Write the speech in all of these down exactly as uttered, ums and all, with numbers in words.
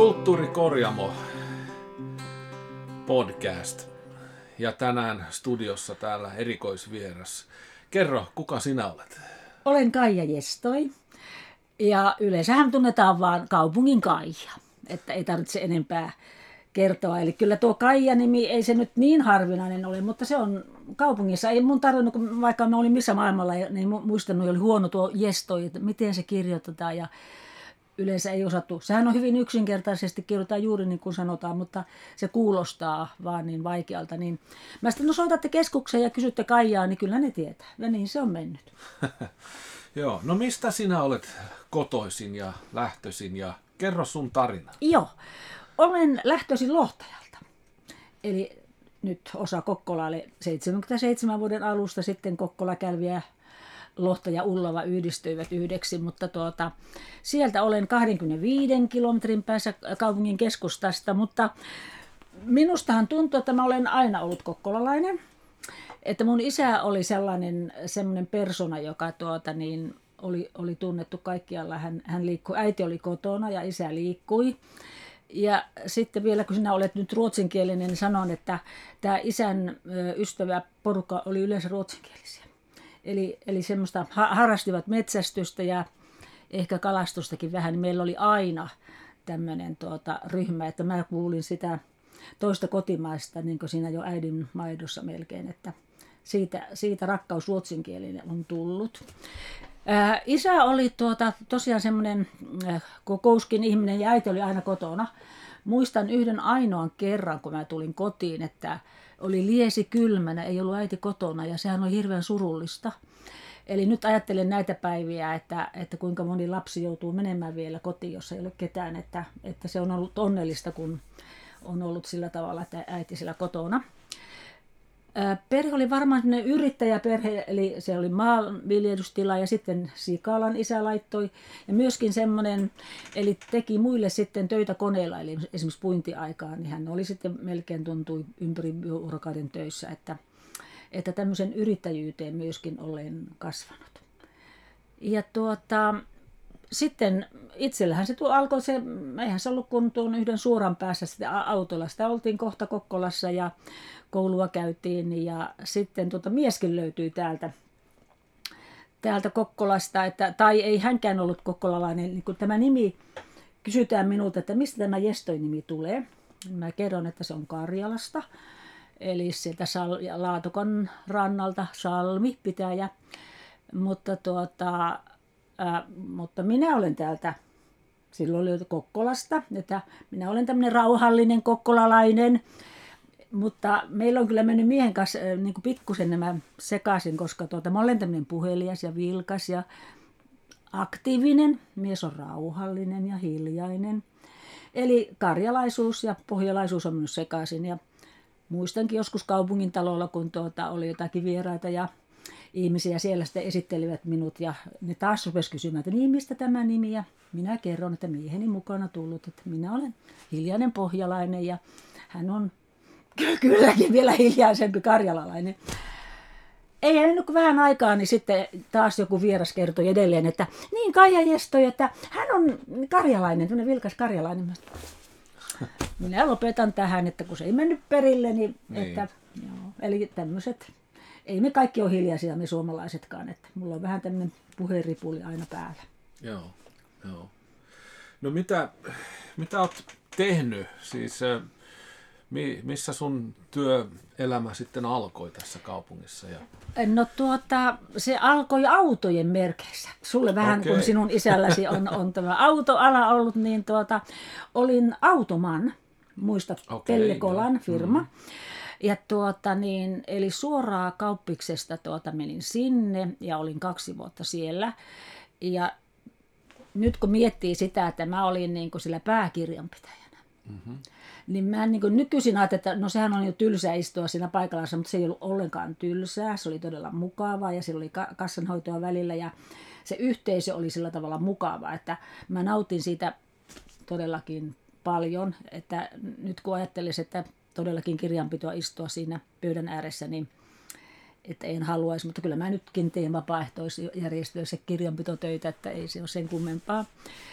Kulttuurikorjamo podcast. Ja tänään studiossa täällä erikoisvieras. Kerro, kuka sinä olet? Olen Kaija Jestoi. Ja yleensähän tunnetaan vaan kaupungin Kaija. Että ei tarvitse enempää kertoa. Eli kyllä tuo Kaija-nimi ei se nyt niin harvinainen ole, mutta se on kaupungissa. Ei mun tarvinnut, vaikka mä olin missä maailmalla, niin muistanut, oli huono tuo Jestoi, että miten se kirjoitetaan. Ja yleensä ei osattu. Sehän on hyvin yksinkertaisesti, kirjoitetaan juuri niin kuin sanotaan, mutta se kuulostaa vaan niin vaikealta. Niin mä sitten, no soitatte keskukseen ja kysytte Kaijaa, niin kyllä ne tietää. Ja niin se on mennyt. Joo, no mistä sinä olet kotoisin ja lähtöisin ja kerro sun tarina. Joo, olen lähtöisin Lohtajalta. Eli nyt osa Kokkolaalle seitsemänkymmentäseitsemän vuoden alusta sitten Kokkola, Kälvi ja Lohta ja Ullava yhdistyivät yhdeksi, mutta tuota, sieltä olen kaksikymmentäviisi kilometrin päässä kaupungin keskustasta, mutta minustahan tuntuu, että mä olen aina ollut kokkolalainen. Että mun isä oli sellainen semmoinen persona, joka tuota, niin, oli, oli tunnettu kaikkialla. Hän, hän liikkui, äiti oli kotona ja isä liikkui. Ja sitten vielä kun sinä olet nyt ruotsinkielinen, niin sanon, että tämä isän ystävä porukka oli yleensä ruotsinkielisiä. Eli, eli semmoista harrastivat metsästystä ja ehkä kalastustakin vähän. Meillä oli aina tämmöinen tuota, ryhmä, että mä kuulin sitä toista kotimaista, niin kuin siinä jo äidin maidossa melkein, että siitä, siitä rakkaus ruotsinkielinen on tullut. Ää, isä oli tuota, tosiaan semmoinen äh, kokouskin ihminen ja äiti oli aina kotona. Muistan yhden ainoan kerran, kun mä tulin kotiin, että oli liesi kylmänä, ei ollut äiti kotona ja sehän oli hirveän surullista. Eli nyt ajattelen näitä päiviä, että, että kuinka moni lapsi joutuu menemään vielä kotiin, jos ei ole ketään, että, että se on ollut onnellista, kun on ollut sillä tavalla, että äiti sillä kotona. Perhe oli varmaan sellainen yrittäjäperhe, eli se oli maanviljelystila ja sitten Sikalan isä laittoi. Ja myöskin semmoinen, eli teki muille sitten töitä koneilla, eli esimerkiksi puintiaikaan, niin hän oli sitten melkein tuntui ympäri vuorokauden töissä, että, että tämmöisen yrittäjyyteen myöskin olen kasvanut. Ja tuota, sitten itsellähän se alkoi se, eihän se ollut kun tuon yhden suoran päässä sitten autolla. Sitä oltiin kohta Kokkolassa ja koulua käytiin ja sitten tuota mieskin löytyi täältä, täältä Kokkolasta, että, tai ei hänkään ollut kokkolalainen. Niin kun tämä nimi, kysytään minulta, että mistä tämä Jestoi-nimi tulee. Mä kerron, että se on Karjalasta, eli sieltä Sal- Laatokan rannalta Salmi pitäjä, mutta tuota... Äh, mutta minä olen täältä, silloin oli Kokkolasta, että minä olen tämmöinen rauhallinen kokkolalainen, mutta meillä on kyllä mennyt miehen kanssa äh, niin kuin pikkusen nämä sekaisin, koska tuota, mä olen tämmöinen puhelias ja vilkas ja aktiivinen, mies on rauhallinen ja hiljainen. Eli karjalaisuus ja pohjalaisuus on mennyt sekaisin ja muistankin joskus kaupungin talolla, kun tuota, oli jotakin vieraita ja ihmisiä siellä sitten esittelivät minut ja ne taas rupesivat kysymään, että niin mistä tämä nimi ja minä kerron, että mieheni mukana tullut, että minä olen hiljainen pohjalainen ja hän on kylläkin vielä hiljaisempi karjalalainen. Ei ennen kuin vähän aikaa, niin sitten taas joku vieras kertoi edelleen, että niin Kaija Jestoi, että hän on karjalainen, tämmöinen vilkas karjalainen. Minä lopetan tähän, että kun se ei mennyt perille, niin, niin. Että, joo, eli tämmöiset. Ei me kaikki ole hiljaisia, me suomalaisetkaan, että mulla on vähän tämmöinen puheenripuli aina päällä. Joo, joo. No mitä, mitä olet tehnyt? Siis missä sun työelämä sitten alkoi tässä kaupungissa? Ja... No tuota, se alkoi autojen merkeissä. Sulle vähän okay. Kun sinun isälläsi on, on tämä autoala ollut, niin tuota, olin automan, muistat okay, Pellekolan firma. Mm. Ja tuota niin, eli suoraan Kauppiksesta tuota menin sinne ja olin kaksi vuotta siellä. Ja nyt kun miettii sitä, että mä olin niin kuin sillä pääkirjanpitäjänä, mm-hmm. niin mä niin kuin nykyisin ajattelin, että no sehän on jo tylsää istua siinä paikallaan, mutta se ei ollut ollenkaan tylsää. Se oli todella mukavaa ja siellä oli kassanhoitoa välillä ja se yhteisö oli sillä tavalla mukava, että mä nautin siitä todellakin paljon. Että nyt kun ajattelisin, että todellakin kirjanpitoa istua siinä pöydän ääressä, niin että en haluaisi, mutta kyllä mä nytkin teen vapaaehtoisjärjestöissä kirjanpitotöitä, että ei se ole sen kummempaa.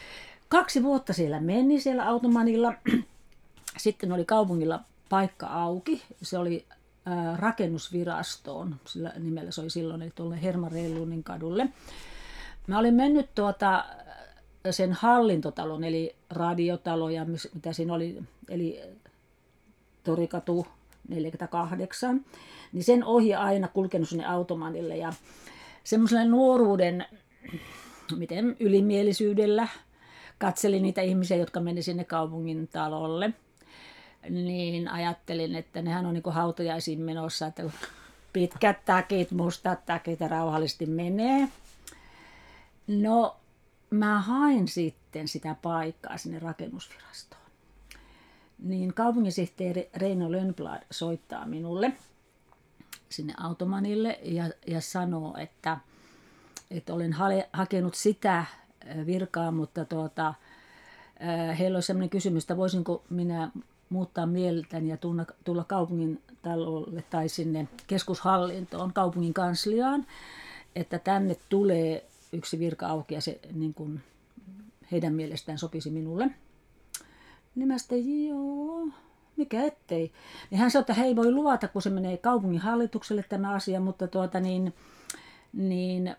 kaksi vuotta siellä meni siellä Automanilla. Sitten oli kaupungilla paikka auki. Se oli ää, rakennusvirastoon, sillä nimellä se oli silloin, eli tuolle Herman Reilunin kadulle. Mä olin mennyt tuota, sen hallintotalon, eli radiotalo ja mitä siinä oli, eli Torikatu neljäkymmentäkahdeksan, niin sen ohi aina kulkenut sinne Automanille ja semmoisella nuoruuden, miten ylimielisyydellä katselin niitä ihmisiä, jotka meni sinne kaupungin talolle, niin ajattelin, että nehän on niin kuin hautajaisiin menossa, että pitkät takit, mustat takit ja rauhallisesti menee. No, mä hain sitten sitä paikkaa sinne rakennusvirastoon. Niin kaupunginsihteeri Reino Lönnblad soittaa minulle sinne Automanille ja, ja sanoo, että, että olen hale, hakenut sitä virkaa, mutta tuota, heillä olisi sellainen kysymys, että voisinko minä muuttaa mieltäni ja tulla, tulla kaupungin talolle tai sinne keskushallintoon, kaupungin kansliaan, että tänne tulee yksi virka auki ja se niin kuin heidän mielestään sopisi minulle. Niin mä sitten, joo, mikä ettei. Niin hän sanoi, että he ei voi luvata, kun se menee kaupungin hallitukselle tämä asia, mutta tuota niin, niin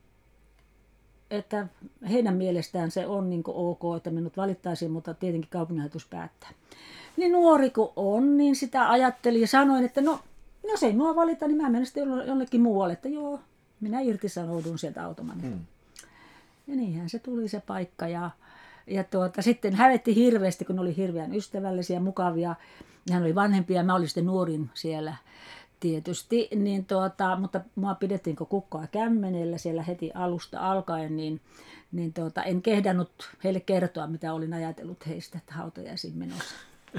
että heidän mielestään se on niin kuin ok, että minut valittaisiin, mutta tietenkin kaupunginhallitus päättää. Niin nuori kun on, niin sitä ajattelin ja sanoin, että no, jos ei minua valita, niin mä menen sitten jollekin muualle, että joo, minä irtisanoudun sieltä Automanilta. Hmm. Ja niinhän se tuli se paikka ja, ja tuota, sitten hävetti hirveästi, kun oli hirveän ystävällisiä, mukavia. Hän oli vanhempi ja mä olin sitten nuorin siellä tietysti, niin tuota, mutta mua pidettiin kuin kukkaa kämmenellä siellä heti alusta alkaen, niin, niin tuota, en kehdannut heille kertoa, mitä olin ajatellut heistä, että hautajaisiin menossa.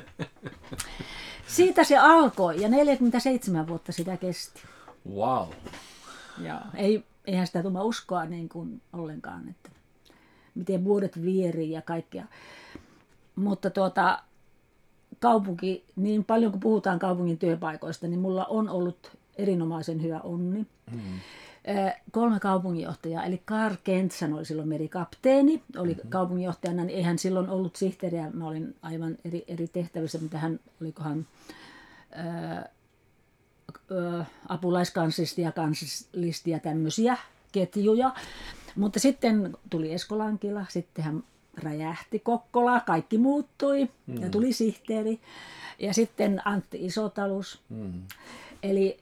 Siitä se alkoi ja neljäkymmentäseitsemän vuotta sitä kesti. Wow. Ja ei, eihän sitä tule uskoa niin kuin ollenkaan, että miten vuodet vierii ja kaikkea. Mutta tuota, kaupunki, niin paljon kuin puhutaan kaupungin työpaikoista, niin mulla on ollut erinomaisen hyvä onni. Mm. Kolme kaupunginjohtajaa, eli Karl Kentsan oli silloin merikapteeni, oli mm-hmm. kaupunginjohtajana, niin eihän silloin ollut sihteeriä, mä olin aivan eri, eri tehtävissä, mitä hän, olikohan ää, ää, apulaiskanslisti ja kanslisti ja tämmöisiä ketjuja. Mutta sitten tuli Esko Lankila, sitten hän räjähti Kokkola, kaikki muuttui mm. ja tuli sihteeri. Ja sitten Antti Isotalus. Mm. Eli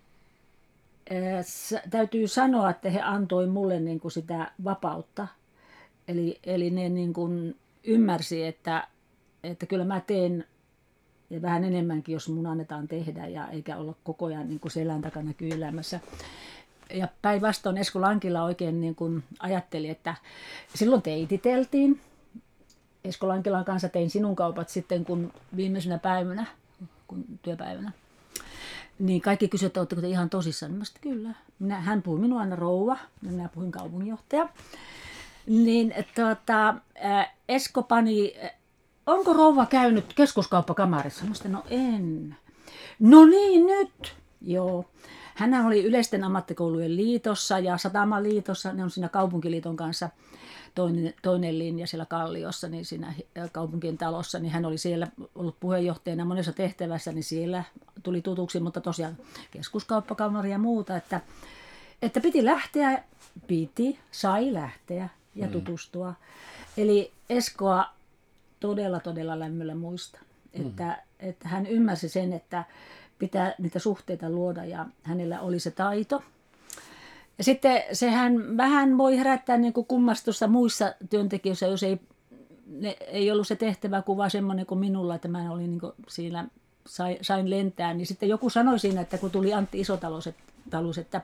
äh, täytyy sanoa, että he antoi mulle niin kuin sitä vapautta. Eli, eli ne niin kuin ymmärsi, että, että kyllä mä teen ja vähän enemmänkin, jos mun annetaan tehdä ja eikä olla koko ajan niin kuin selän takana kyyläämässä. Ja päinvastoin Esko Lankila oikein niin kuin ajatteli, että silloin teititeltiin. Esko Lankilan kanssa tein sinun kaupat sitten, kun viimeisenä päivänä, kun työpäivänä. Niin kaikki kysyivät, että oletteko te ihan tosissaan. Niin mä sanoin, kyllä. Minä, hän puhui minua aina rouva, ja minä puhuin kaupunginjohtaja. Niin tuota, Esko pani, onko rouva käynyt keskuskauppakamarissa? Mä sanoin, no en. No niin, nyt. Joo. Hän oli Yleisten ammattikoulujen liitossa ja Satamaliitossa, ne on siinä kaupunkiliiton kanssa toinen, toinen linja siellä Kalliossa, niin siinä kaupunkien talossa, niin hän oli siellä ollut puheenjohtajana monessa tehtävässä, niin siellä tuli tutuksi, mutta tosiaan keskuskauppakamari ja muuta, että, että piti lähteä, piti, sai lähteä ja tutustua. Mm. Eli Eskoa todella, todella lämmöllä muista, että, mm. että hän ymmärsi sen, että pitää niitä suhteita luoda ja hänellä oli se taito. Ja sitten sehän vähän voi herättää niin kuin kummastusta muissa työntekijöissä, jos ei, ne, ei ollut se tehtäväkuva semmoinen kuin minulla, että mä olin niin kuin siinä, sai, sain lentää. Niin sitten joku sanoi siinä, että kun tuli Antti Isotalus, että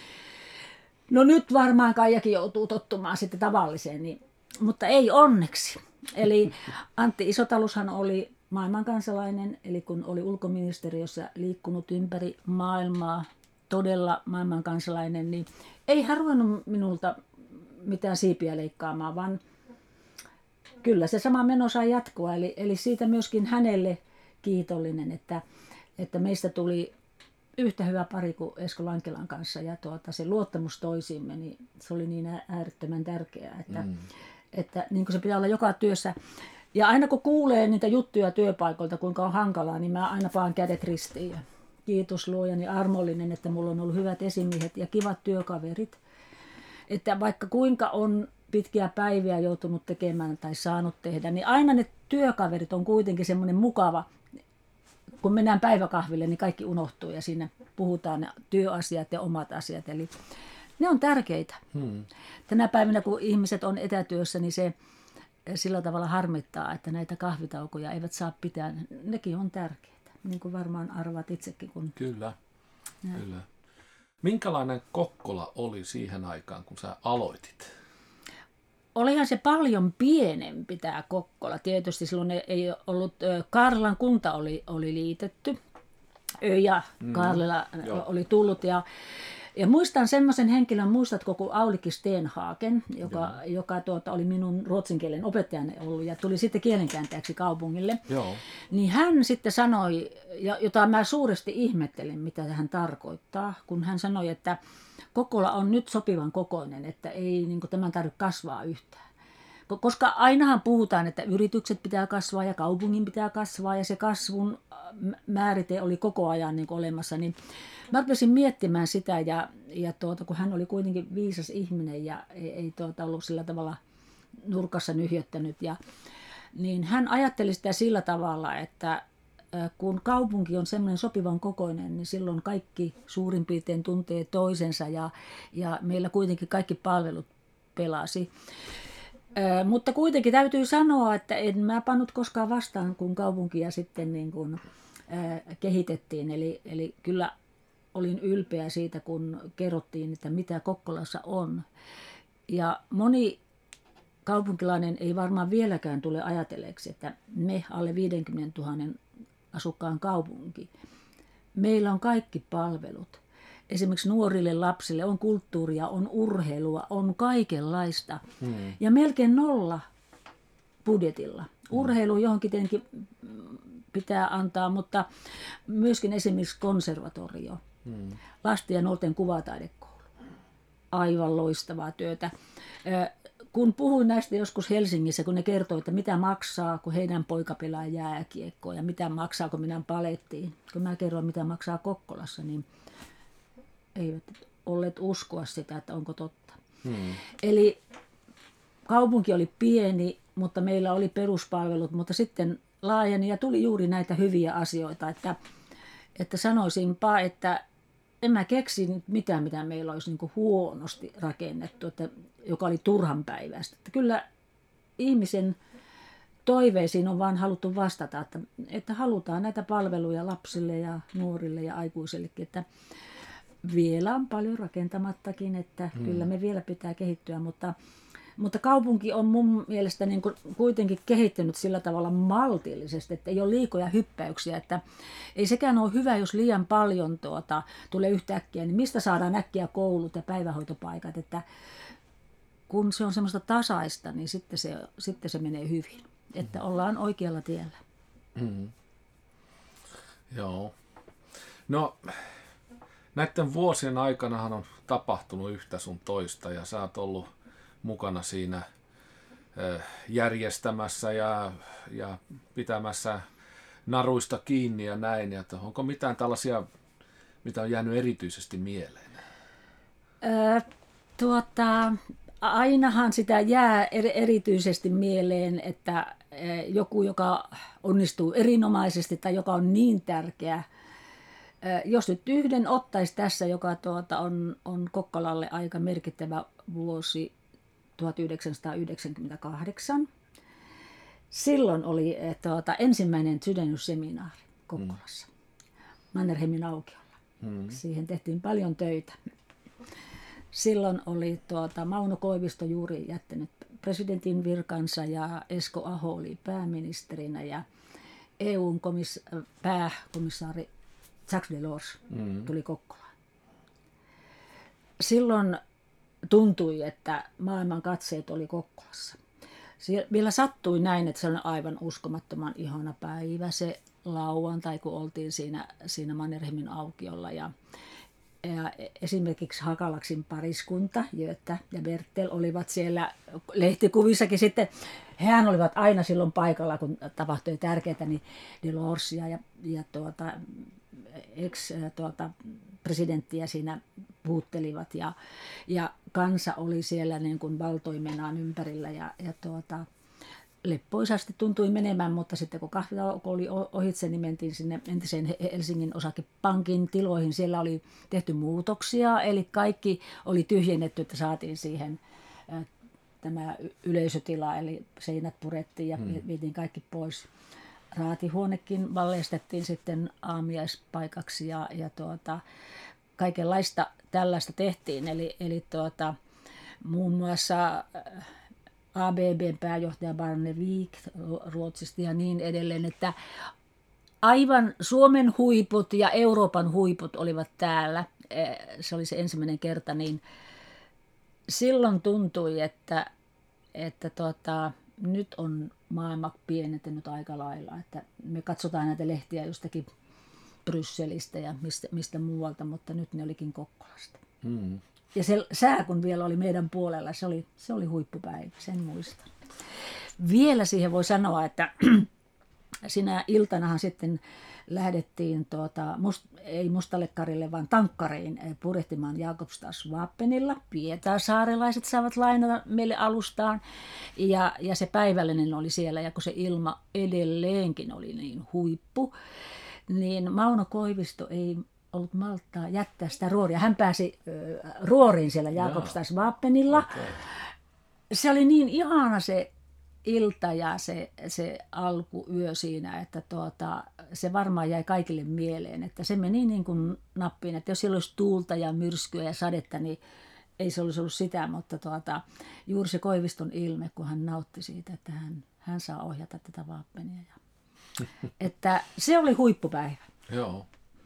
no nyt varmaan Kaijakin joutuu tottumaan sitten tavalliseen, niin, mutta ei onneksi. Eli Antti Isotalushan oli maailmankansalainen, eli kun oli ulkoministeriössä liikkunut ympäri maailmaa, todella maailmankansalainen, niin ei hän ruvennut minulta mitään siipiä leikkaamaan, vaan kyllä se sama meno sai jatkoa. Eli, eli siitä myöskin hänelle kiitollinen, että, että meistä tuli yhtä hyvä pari kuin Esko Lankilan kanssa ja tuota, se luottamus toisiimme, niin se oli niin äärettömän tärkeää, että, mm. Että niin kuin se pitää olla joka työssä. Ja aina kun kuulee niitä juttuja työpaikoilta, kuinka on hankalaa, niin mä aina paan kädet ristiin. Ja kiitos luojani armollinen, että mulla on ollut hyvät esimiehet ja kivat työkaverit. Että vaikka kuinka on pitkiä päiviä joutunut tekemään tai saanut tehdä, niin aina ne työkaverit on kuitenkin semmoinen mukava. Kun mennään päiväkahville, niin kaikki unohtuu ja siinä puhutaan ne työasiat ja omat asiat. Eli ne on tärkeitä. Hmm. Tänä päivänä, kun ihmiset on etätyössä, niin se sillä tavalla harmittaa, että näitä kahvitaukoja eivät saa pitää. Nekin on tärkeitä, niin kuin varmaan arvaat itsekin. Kun... Kyllä, kyllä. Minkälainen Kokkola oli siihen aikaan, kun sä aloitit? Olihan se paljon pienempi tämä Kokkola. Tietysti silloin ei ollut, Kaarlelan kunta oli, oli liitetty ja Kaarlela mm, oli tullut. Ja, ja muistan semmoisen henkilön, muistatko, kun Aulikki Stenhagen, joka, joka tuota, oli minun ruotsinkielen opettajani ollut ja tuli sitten kielenkääntäjäksi kaupungille. Joo. Niin hän sitten sanoi, jota mä suuresti ihmettelin, mitä hän tarkoittaa, kun hän sanoi, että Kokkola on nyt sopivan kokoinen, että ei niin kuin, tämän tarvitse kasvaa yhtään. Koska ainahan puhutaan, että yritykset pitää kasvaa ja kaupungin pitää kasvaa ja se kasvun määrite oli koko ajan niin kuin olemassa. Niin mä rupesin miettimään sitä ja, ja tuota, kun hän oli kuitenkin viisas ihminen ja ei, ei tuota, ollut sillä tavalla nurkassa nyhjöttänyt. Ja, niin hän ajatteli sitä sillä tavalla, että kun kaupunki on semmoinen sopivan kokoinen, niin silloin kaikki suurin piirtein tuntee toisensa ja, ja meillä kuitenkin kaikki palvelut pelasi. Ö, mutta kuitenkin täytyy sanoa, että en mä pannut koskaan vastaan, kun kaupunkia sitten niin kuin, ö, kehitettiin. Eli, eli kyllä olin ylpeä siitä, kun kerrottiin, että mitä Kokkolassa on. Ja moni kaupunkilainen ei varmaan vieläkään tule ajatelleeksi, että me alle viisikymmentätuhatta asukkaan kaupunki. Meillä on kaikki palvelut. Esimerkiksi nuorille lapsille on kulttuuria, on urheilua, on kaikenlaista. Hmm. Ja melkein nolla budjetilla. Urheilu johonkin tietenkin pitää antaa, mutta myöskin esimerkiksi konservatorio. Hmm. Lasten ja nuorten kuvataidekoulu. Aivan loistavaa työtä. Kun puhuin näistä joskus Helsingissä, kun ne kertoi, että mitä maksaa, kun heidän poika pelaa jääkiekkoa ja mitä maksaa, kun minä palettiin. Kun mä kerroin, mitä maksaa Kokkolassa, niin eivät olleet uskoa sitä, että onko totta. Hmm. Eli kaupunki oli pieni, mutta meillä oli peruspalvelut, mutta sitten laajeni ja tuli juuri näitä hyviä asioita, että, että sanoisinpa, että en mä keksi mitään, mitä meillä olisi niin kuin huonosti rakennettu, että, joka oli turhanpäiväistä. Että kyllä ihmisen toiveisiin on vaan haluttu vastata, että, että halutaan näitä palveluja lapsille ja nuorille ja aikuisellekin, että vielä on paljon rakentamattakin, että hmm. kyllä me vielä pitää kehittyä, mutta, mutta kaupunki on mun mielestä niin kuin kuitenkin kehittynyt sillä tavalla maltillisesti, että ei ole liikoja hyppäyksiä, että ei sekään ole hyvä, jos liian paljon tuota, tulee yhtäkkiä, niin mistä saadaan äkkiä koulut ja päivähoitopaikat, että kun se on semmoista tasaista, niin sitten se, sitten se menee hyvin, että ollaan oikealla tiellä. Mm. Joo. No näiden vuosien aikanahan on tapahtunut yhtä sun toista ja sä oot ollut mukana siinä järjestämässä ja, ja pitämässä naruista kiinni ja näin. Ja onko mitään tällaisia, mitä on jäänyt erityisesti mieleen? Öö, tuota, ainahan sitä jää erityisesti mieleen, että joku, joka onnistuu erinomaisesti tai joka on niin tärkeä. Jos nyt yhden ottaisi tässä, joka tuota on, on Kokkolalle aika merkittävä vuosi, tuhatyhdeksänsataayhdeksänkymmentäkahdeksan. Silloin oli tuota, ensimmäinen sydänysseminaari Kokkolassa, mm. Mannerheimin aukiolla. Mm. Siihen tehtiin paljon töitä. Silloin oli tuota, Mauno Koivisto juuri jättänyt presidentin virkansa ja Esko Aho oli pääministerinä ja E U:n komis- pääkomissaari Jacques Delors mm. tuli Kokkolaan. Silloin tuntui, että maailman katseet oli Kokkolassa. Siellä vielä sattui näin, että se oli aivan uskomattoman ihana päivä se lauantai, kun oltiin siinä, siinä Mannerheimin aukiolla. Ja Ja esimerkiksi Hakalaksin pariskunta, Göta ja Bertel, olivat siellä lehtikuvissakin sitten. Hehän olivat aina silloin paikalla, kun tapahtui tärkeää, niin Delorsia ja, ja tuota, ex-presidenttiä tuota, siinä puhuttelivat. Ja, ja kansa oli siellä niin kuin valtoimenaan ympärillä ja, ja tuota, leppoisasti tuntui menemään, mutta sitten kun kahvitauko oli ohitse, niin mentiin sinne entiseen Helsingin osakepankin tiloihin. Siellä oli tehty muutoksia, eli kaikki oli tyhjennetty, että saatiin siihen ä, tämä yleisötila, eli seinät purettiin ja hmm. vietiin kaikki pois. Raatihuonekin valleistettiin sitten aamiaispaikaksi ja, ja tuota, kaikenlaista tällaista tehtiin, eli, eli tuota, muun muassa A B B:n pääjohtaja Barnevik Ruotsista ja niin edelleen, että aivan Suomen huiput ja Euroopan huiput olivat täällä. Se oli se ensimmäinen kerta, niin silloin tuntui, että, että tota, nyt on maailma pienentynyt aika lailla. Että me katsotaan näitä lehtiä jostakin Brysselistä ja mistä, mistä muualta, mutta nyt ne olikin Kokkolasta. Hmm. Ja se sää, kun vielä oli meidän puolella, se oli, se oli huippupäivä, sen muistan. Vielä siihen voi sanoa, että sinä iltanahan sitten lähdettiin, tuota, must, ei Mustallekarille, vaan Tankkariin purjehtimaan Jakobstadsvapenilla. Pietasaarelaiset saavat lainata meille alustaan. Ja, ja se päivällinen oli siellä, ja kun se ilma edelleenkin oli niin huippu, niin Mauno Koivisto ei ollut malttaa jättää sitä ruoria. Hän pääsi äh, ruoriin siellä Jakobstadsvapenilla. Okay. Se oli niin ihana se ilta ja se, se alkuyö siinä, että tuota, se varmaan jäi kaikille mieleen. Että se meni niin kuin nappiin, että jos siellä olisi tuulta ja myrskyä ja sadetta, niin ei se olisi ollut sitä, mutta tuota, juuri se Koiviston ilme, kun hän nautti siitä, että hän, hän saa ohjata tätä Vapenia. Että se oli huippupäivä. Joo.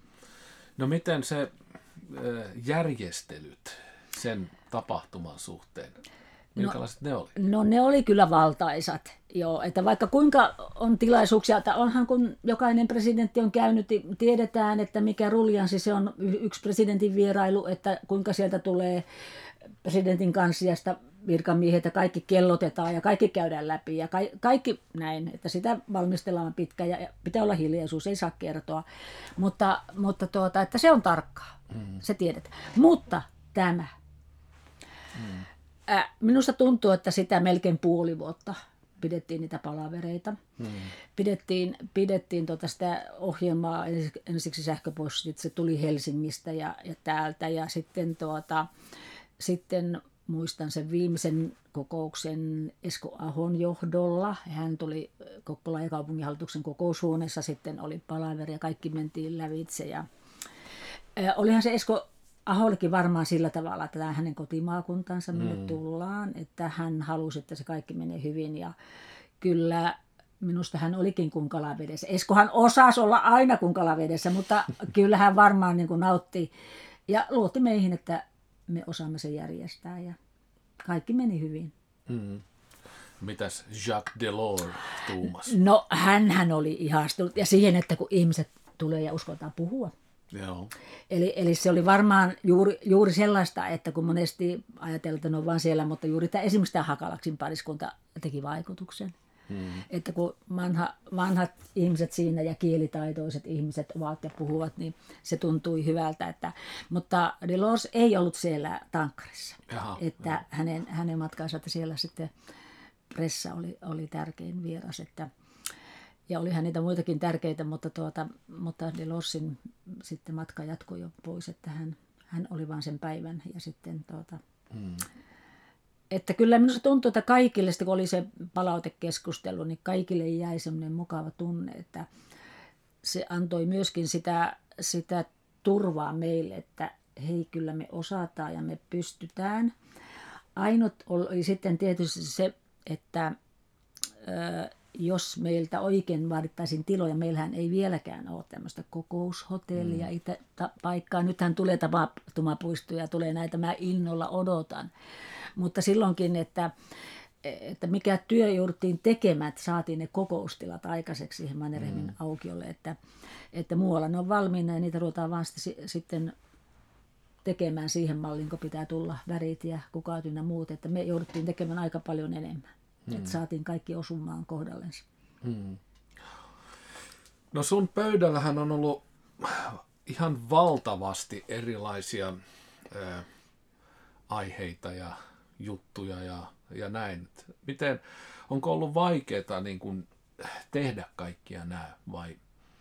No miten se järjestelyt sen tapahtuman suhteen, minkälaiset no, ne oli? No ne oli kyllä valtaisat, joo, että vaikka kuinka on tilaisuuksia, että onhan kun jokainen presidentti on käynyt, tiedetään, että mikä ruljanssi se on yksi presidentin vierailu, että kuinka sieltä tulee presidentin kansliasta virkamiehet ja kaikki kellotetaan ja kaikki käydään läpi ja ka- kaikki näin, että sitä valmistellaan pitkään ja pitää olla hiljaisuus, ei saa kertoa, mutta, mutta tuota, että se on tarkkaa, mm. se tiedetään. Mutta tämä, mm. äh, minusta tuntuu, että sitä melkein puoli vuotta pidettiin niitä palavereita, mm. pidettiin, pidettiin tuota sitä ohjelmaa ensiksi sähköpostit, se tuli Helsingistä ja, ja täältä ja sitten tuota, sitten muistan sen viimeisen kokouksen Esko Ahon johdolla. Hän tuli Kokkolan ja kaupunginhallituksen kokoushuoneessa, sitten oli palaveri ja kaikki mentiin lävitse. Ja, ää, olihan se Esko Ahollekin varmaan sillä tavalla, että tämä hänen kotimaakuntansa minne mm. tullaan, että hän halusi, että se kaikki menee hyvin. Ja kyllä minusta hän olikin kuin kalavedessä. Eskohan osasi olla aina kuin kalavedessä, mutta kyllä hän varmaan niin kuin nautti ja luotti meihin, että me osaamme sen järjestää ja kaikki meni hyvin. Mm. Mitäs Jacques Delors tuumasi? No hänhän oli ihastunut ja siihen, että kun ihmiset tulee ja uskotaan puhua. Joo. Eli, eli se oli varmaan juuri, juuri sellaista, että kun monesti ajatellaan, että ne on vaan siellä, mutta juuri tämä, esimerkiksi tämä Hakalaksin pariskunta teki vaikutuksen. Hmm. Että kun vanha, vanhat ihmiset siinä ja kielitaitoiset ihmiset ovat ja puhuvat, niin se tuntui hyvältä. Että, mutta Delors ei ollut siellä Tankkarissa. Jaha, että jaha. Hänen, hänen matkansa, että siellä sitten pressa oli, oli tärkein vieras. Että, ja olihan niitä muitakin tärkeitä, mutta, tuota, mutta Delorsin sitten matka jatkoi jo pois, että hän, hän oli vain sen päivän ja sitten tuota, hmm. Että kyllä minusta tuntuu, että kaikille, kun oli se palautekeskustelu, niin kaikille jäi semmoinen mukava tunne, että se antoi myöskin sitä, sitä turvaa meille, että hei, kyllä me osataan ja me pystytään. Ainut oli sitten tietysti se, että ö, jos meiltä oikein vaadittaisiin tiloja, meillähän ei vieläkään ole tämmöistä kokoushotellia, mm. itä, ta, paikkaa. Nythän tulee tapahtumapuistoja, tulee näitä, mä innolla odotan. Mutta silloinkin, että, että mikä työ jouduttiin tekemään, että saatiin ne kokoustilat aikaiseksi siihen Mannerheimin mm. aukiolle, että, että muualla ne on valmiina ja niitä ruvetaan vaan sitten tekemään siihen malliin, kun pitää tulla värit ja kukaat ynnä muut, että me jouduttiin tekemään aika paljon enemmän, hmm. että saatiin kaikki osumaan kohdallensa. Hmm. No sun pöydällähän on ollut ihan valtavasti erilaisia ää, aiheita ja juttuja ja, ja näin. Miten, onko ollut vaikeaa niin kuin tehdä kaikkia nämä vai?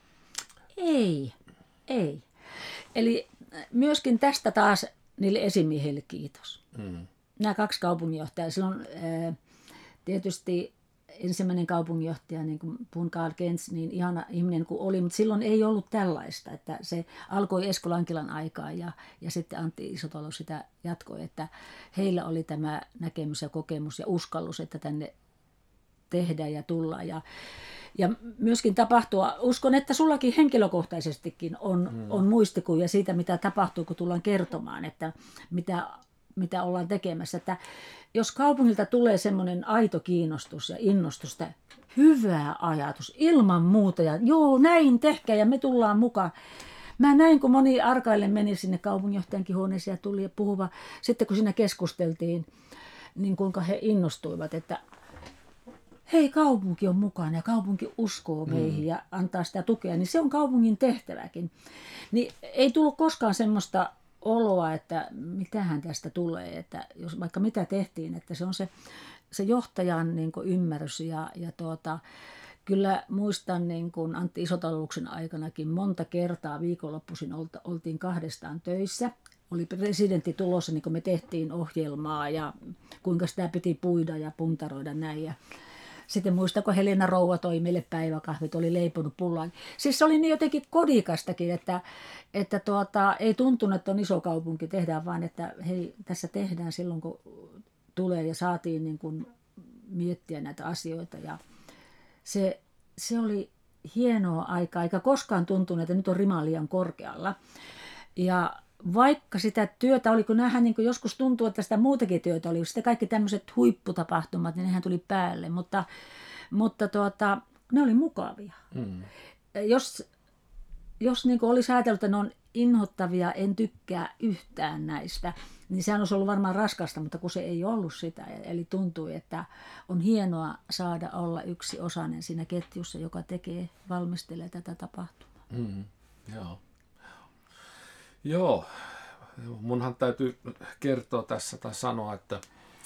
Ei, ei. Eli myöskin tästä taas niille esimiehille kiitos. Hmm. Nämä kaksi kaupunginjohtajaa, silloin ää, tietysti ensimmäinen kaupunginjohtaja, niin kuin Pun Karl Gentz, niin ihana ihminen kuin oli, mutta silloin ei ollut tällaista, että se alkoi Esko Lankilan aikaa ja, ja sitten Antti Isotalo sitä jatkoi, että heillä oli tämä näkemys ja kokemus ja uskallus, että tänne tehdään ja tullaan ja, ja myöskin tapahtua. Uskon, että sullakin henkilökohtaisestikin on, hmm. on muistikuvia siitä, mitä tapahtuu, kun tullaan kertomaan, että mitä, mitä ollaan tekemässä, että jos kaupungilta tulee semmoinen aito kiinnostus ja innostus, hyvä ajatus, ilman muuta, ja joo, näin tehkää ja me tullaan mukaan. Mä näin, kun moni arkaille meni sinne kaupunginjohtajankin huoneeseen ja tuli puhuva. Sitten kun siinä keskusteltiin, niin kuinka he innostuivat, että hei, kaupunki on mukana ja kaupunki uskoo meihin mm. ja antaa sitä tukea, niin se on kaupungin tehtäväkin. Niin ei tullut koskaan semmoista oloa, että mitähän tästä tulee, että jos vaikka mitä tehtiin, että se on se, se johtajan niin kuin ymmärrys ja, ja tuota, kyllä muistan niin kuin Antti Isotaloksen aikanakin monta kertaa viikonloppuisin oltiin kahdestaan töissä. Oli presidentti tulossa, niin kuin me tehtiin ohjelmaa ja kuinka sitä piti puida ja puntaroida näin ja sitten muistako Helena Rouva toi meille päiväkahvit, oli leiponut pullaan. Siis se oli niin jotenkin kodikastakin, että, että tuota, ei tuntunut, että on iso kaupunki, tehdään vaan, että hei, tässä tehdään silloin, kun tulee ja saatiin niin kuin miettiä näitä asioita. Ja se, se oli hienoa aikaa, eikä koskaan tuntunut, että nyt on rima liian korkealla. Ja vaikka sitä työtä oli, kun näähän niin kuin joskus tuntuu, että sitä muutakin työtä oli, sitten kaikki tämmöiset huipputapahtumat, niin nehän tuli päälle, mutta, mutta tuota, ne oli mukavia. Mm. Jos, jos niin kuin olisi ajatellut, että ne on inhottavia, en tykkää yhtään näistä, niin sehän olisi ollut varmaan raskasta, mutta kun se ei ollut sitä, eli tuntui, että on hienoa saada olla yksi osainen siinä ketjussa, joka tekee, valmistelee tätä tapahtumaa. Mm. Joo. Joo, munhan täytyy kertoa tässä tai sanoa, että,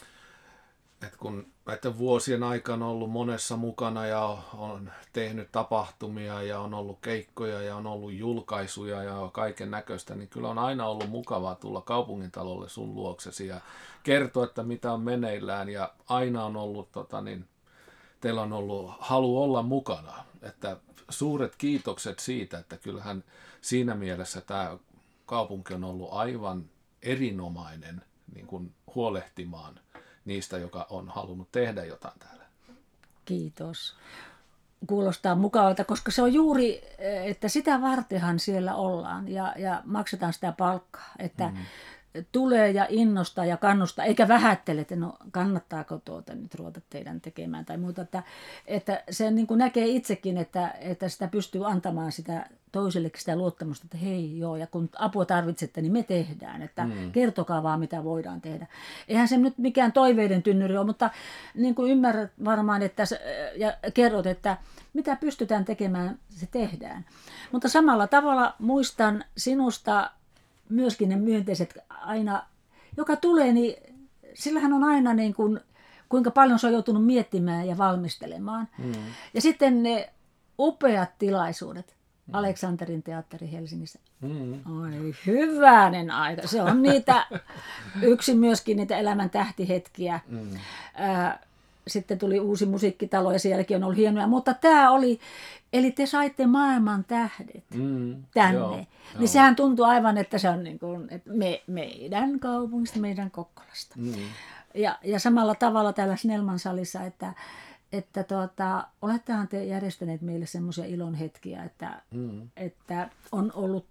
että kun näiden vuosien aikana on ollut monessa mukana ja on tehnyt tapahtumia ja on ollut keikkoja ja on ollut julkaisuja ja kaiken näköistä, niin kyllä on aina ollut mukavaa tulla kaupungintalolle sun luoksesi ja kertoa, että mitä on meneillään ja aina on ollut, tota niin, teillä on ollut halu olla mukana, että suuret kiitokset siitä, että kyllähän siinä mielessä tämä kaupunki on ollut aivan erinomainen niin kuin huolehtimaan niistä, joka on halunnut tehdä jotain täällä. Kiitos. Kuulostaa mukavalta, koska se on juuri, että sitä vartenhan siellä ollaan ja, ja maksetaan sitä palkkaa, että mm. tulee ja innostaa ja kannustaa, eikä vähättele, että no kannattaako tuota nyt ruveta teidän tekemään tai muuta, että, että se niin kuin näkee itsekin, että, että sitä pystyy antamaan sitä toisellekin sitä luottamusta, että hei joo, ja kun apua tarvitsette, niin me tehdään, että mm. kertokaa vaan, mitä voidaan tehdä. Eihän se nyt mikään toiveiden tynnyri ole, mutta niin kuin ymmärrät varmaan, että ja kerrot, että mitä pystytään tekemään, se tehdään. Mutta samalla tavalla muistan sinusta myöskin ne myönteiset aina, joka tulee, niin sillähän on aina niin kuin, kuinka paljon se on joutunut miettimään ja valmistelemaan. Mm. Ja sitten ne upeat tilaisuudet. Mm. Aleksanterin teatteri Helsingissä. Mm. Oi hyvänen aika. Se on niitä, yksi myöskin niitä elämän tähtihetkiä. Mm. Äh, sitten tuli uusi musiikkitalo ja sielläkin on ollut hienoja. Mutta tämä oli, eli te saitte maailman tähdet mm. tänne. Joo, niin joo. Sehän tuntuu aivan, että se on niin kuin, että me, meidän kaupungista, meidän Kokkolasta. Mm. Ja, ja samalla tavalla täällä Snellman salissa, että että tuota, olettehan te järjestäneet meille semmoisia ilon hetkiä, että, mm. että on ollut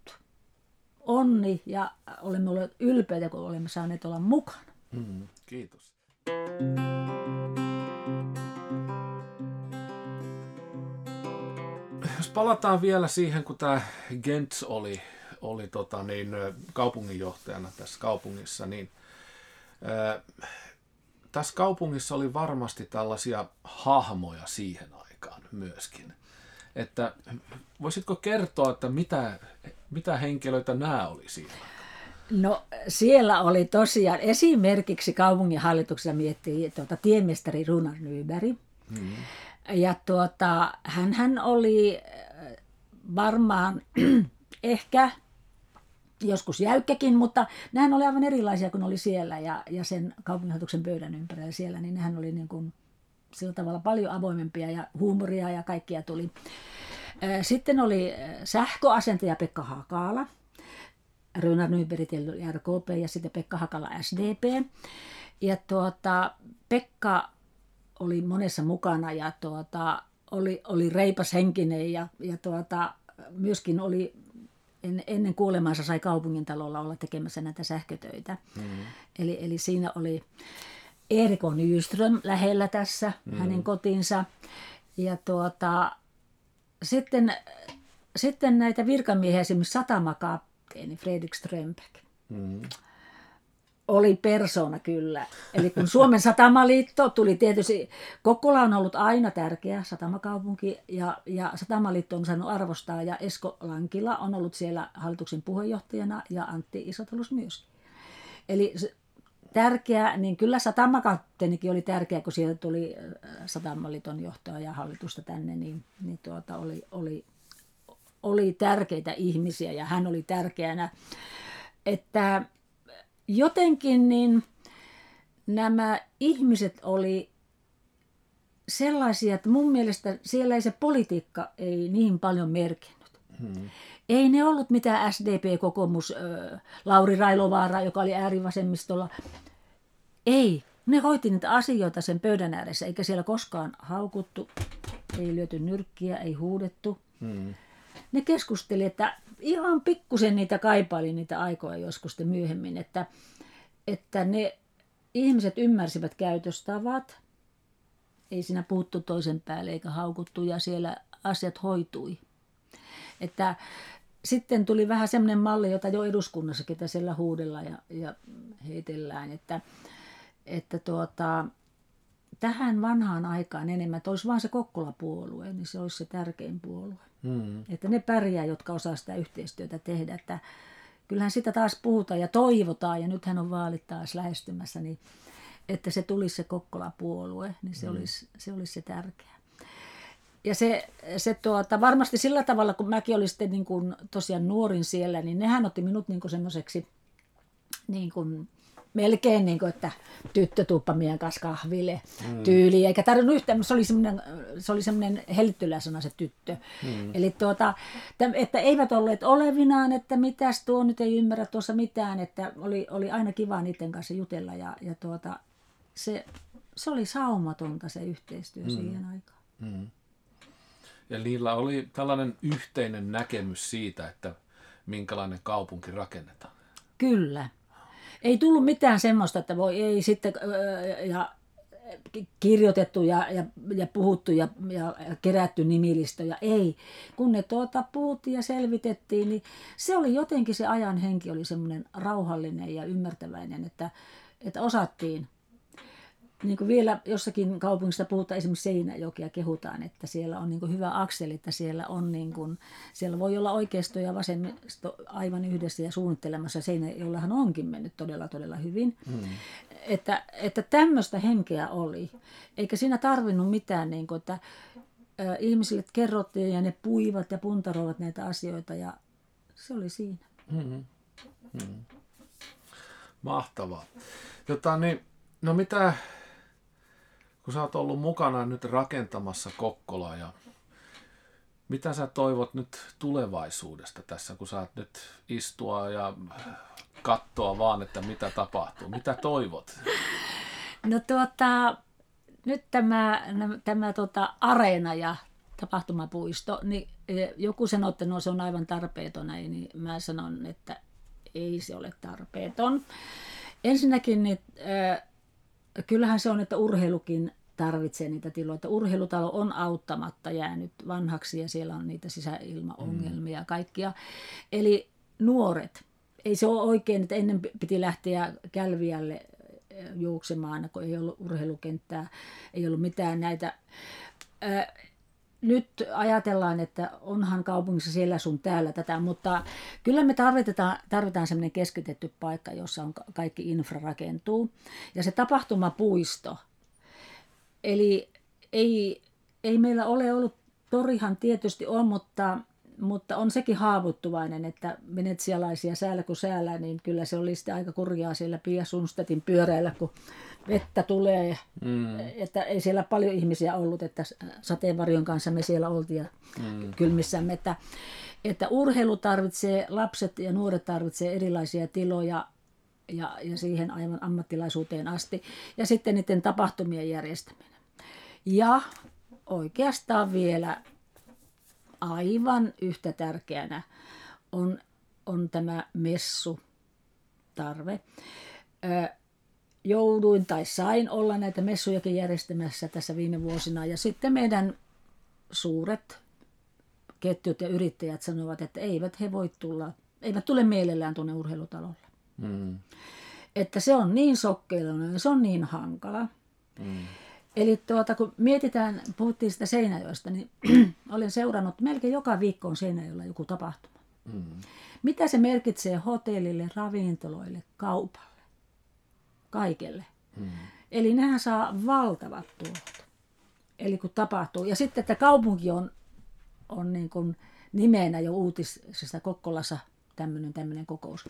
onni ja olemme olleet ylpeitä, kun olemme saaneet olla mukana. Mm. Kiitos. Jos palataan vielä siihen, kun tämä Gentz oli, oli tota, niin, kaupunginjohtajana tässä kaupungissa, niin ää, tässä kaupungissa oli varmasti tällaisia hahmoja siihen aikaan myöskin. Että voisitko kertoa, että mitä, mitä henkilöitä nämä oli siinä? No siellä oli tosiaan esimerkiksi kaupunginhallituksessa miettii tuota, tiemestari Runar Nyberg. Mm-hmm. Ja tuota, hänhän oli varmaan ehkä joskus jäykkäkin, mutta nehän oli aivan erilaisia kuin oli siellä ja, ja sen kaupunginhallituksen pöydän ympärillä siellä, niin nehän oli niin kuin sillä tavalla paljon avoimempia ja huumoria ja kaikkia tuli. Sitten oli sähköasentaja Pekka Hakala, Runar Nyberg oli R K P ja sitten Pekka Hakala S D P. Ja tuota, Pekka oli monessa mukana ja tuota, oli, oli reipas henkinen ja, ja tuota, myöskin oli en, ennen kuolemaansa sai kaupungintalolla olla tekemässä näitä sähkötöitä. Mm-hmm. Eli, eli siinä oli Erik Nyström lähellä tässä, mm-hmm. hänen kotinsa. Ja tuota, sitten, sitten näitä virkamiehiä, esimerkiksi satamakapteeni Fredrik Strömbeck. Mm-hmm. Oli persoona kyllä. Eli kun Suomen Satamaliitto tuli tietysti, Kokkola on ollut aina tärkeä satamakaupunki ja, ja Satamaliitto on saanut arvostaa ja Esko Lankila on ollut siellä hallituksen puheenjohtajana ja Antti Isotalus myös. Eli tärkeä, niin kyllä satamakapteenikin oli tärkeä, kun sieltä tuli Satamaliiton johtaja ja hallitusta tänne, niin, niin tuota oli, oli, oli tärkeitä ihmisiä ja hän oli tärkeänä, että jotenkin niin nämä ihmiset oli sellaisia, että mun mielestä siellä ei se politiikka ei niin paljon merkinnyt. Hmm. Ei ne ollut mitään S D P-kokoomus, Lauri Railovaara, joka oli äärivasemmistolla. Ei, ne hoiti niitä asioita sen pöydän ääressä, eikä siellä koskaan haukuttu, ei lyöty nyrkkiä, ei huudettu. Hmm. Ne keskusteli, että ihan pikkusen niitä kaipaili niitä aikoja joskus myöhemmin, että, että ne ihmiset ymmärsivät käytöstavat, ei siinä puhuttu toisen päälle eikä haukuttu ja siellä asiat hoitui. Että sitten tuli vähän semmoinen malli, jota jo eduskunnassakin siellä huudellaan ja, ja heitellään, että, että tuota, tähän vanhaan aikaan enemmän, että olisi vaan se Kokkola-puolue, niin se olisi se tärkein puolue. Hmm. Että ne pärjää, jotka osaa sitä yhteistyötä tehdä. Että kyllähän sitä taas puhutaan ja toivotaan, ja nythän on vaalit taas lähestymässä, niin että se tulisi se Kokkola-puolue, niin se, hmm. olisi, se olisi se tärkeä. Ja se, se tuota, varmasti sillä tavalla, kun mäkin olin sitten niin kuin tosiaan nuorin siellä, niin nehän otti minut niin kuin semmoiseksi niin kuin melkein niin kuin, että tyttö tuuppa meidän kanssa kahville mm. tyyliin, eikä tarvinnut yhtään, se oli semmoinen, se oli semmoinen helttyläsana se tyttö. Mm. Eli tuota, että eivät olleet olevinaan, että mitäs tuo nyt ei ymmärrä tuossa mitään, että oli, oli aina kiva niiden kanssa jutella ja, ja tuota, se, se oli saumatonta se yhteistyö mm. siihen aikaan. Mm. Ja niillä oli tällainen yhteinen näkemys siitä, että minkälainen kaupunki rakennetaan. Kyllä. Ei tullut mitään semmoista, että voi ei sitten ja kirjoitettu ja, ja, ja puhuttu ja, ja kerätty nimilistöjä. Ei. Kun ne tuota puhuttiin ja selvitettiin, niin se oli jotenkin se ajan henki oli semmoinen rauhallinen ja ymmärtäväinen, että, että osattiin. Niin kuin vielä jossakin kaupungissa puhutaan esimerkiksi Seinäjokia kehutaan, että siellä on niin kuin hyvä akseli, että siellä, on niin kuin, siellä voi olla oikeisto ja vasemmisto aivan yhdessä ja suunnittelemassa. Seinäjoellahan onkin mennyt todella todella hyvin. Hmm. Että, että tämmöistä henkeä oli. Eikä siinä tarvinnut mitään, niin kuin, että ä, ihmisille kerrottiin ja ne puivat ja puntaroivat näitä asioita ja se oli siinä. Hmm. Hmm. Mahtavaa. Jota, niin, no mitä... Kun sä oot ollut mukana nyt rakentamassa Kokkolaa ja mitä sä toivot nyt tulevaisuudesta tässä, kun saat nyt istua ja katsoa vaan, että mitä tapahtuu? Mitä toivot? No tuota, nyt tämä, tämä tuota, areena ja tapahtumapuisto, niin joku sanoo, että no se on aivan tarpeeton, niin mä sanon, että ei se ole tarpeeton. Ensinnäkin niin, äh, kyllähän se on, että urheilukin tarvitsee niitä tiloja. Urheilutalo on auttamatta jäänyt vanhaksi ja siellä on niitä sisäilmaongelmia ja kaikkia. Eli nuoret. Ei se ole oikein, että ennen piti lähteä Kälviälle juoksemaan, kun ei ollut urheilukenttää, ei ollut mitään näitä. Ää, nyt ajatellaan, että onhan kaupungissa siellä sun täällä tätä, mutta kyllä me tarvitaan, tarvitaan sellainen keskitetty paikka, jossa on kaikki infra rakentuu. Ja se tapahtumapuisto. Eli ei, ei meillä ole ollut, torihan tietysti on, mutta, mutta on sekin haavoittuvainen, että venetsialaisia säällä kuin säällä, niin kyllä se oli sitten aika kurjaa siellä Pia Sundstedtin pyöräillä, kun vettä tulee. Mm. Että ei siellä paljon ihmisiä ollut, että sateenvarjon kanssa me siellä oltiin ja mm. kylmissämme. Että, että urheilu tarvitsee, lapset ja nuoret tarvitsee erilaisia tiloja ja, ja siihen aivan ammattilaisuuteen asti. Ja sitten niiden tapahtumien järjestäminen. Ja oikeastaan vielä aivan yhtä tärkeänä on, on tämä messutarve. Ö, jouduin tai sain olla näitä messujakin järjestämässä tässä viime vuosina. Ja sitten meidän suuret ketjut ja yrittäjät sanovat, että eivät he voi tulla, eivät tule mielellään tuonne urheilutalolle. Mm. Että se on niin sokkeiluinen ja se on niin hankala. Mm. Eli tuota, kun mietitään, puhuttiin sitä Seinäjoesta, niin olen seurannut melkein joka viikko on Seinäjoella joku tapahtuma. Mm. Mitä se merkitsee hotellille, ravintoloille, kaupalle, kaikelle. Mm. Eli nehän saa valtavat tulot. Eli kun tapahtuu. Ja sitten, että kaupunki on, on niin kuin nimenä jo uutisesta Kokkolassa tämmöinen, tämmöinen kokous.